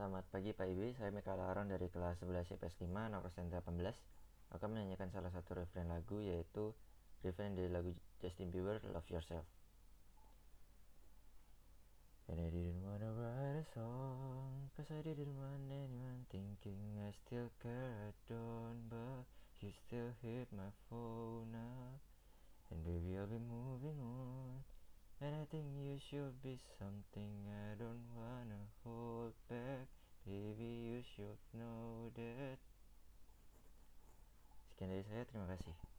Selamat pagi Pak Ibi, saya Michael Aaron dari kelas 11 IPS 5 nomor 18. Akan menyanyikan salah satu refrain lagu, yaitu refrain dari lagu Justin Bieber, Love Yourself. And I didn't wanna write a song, cause I didn't want anyone thinking I still care, I don't. But you still hit my phone up, and baby I'll be moving on. And I think you should be something I don't wanna hold back. Baby, you should know that. Sekian dari saya, terima kasih.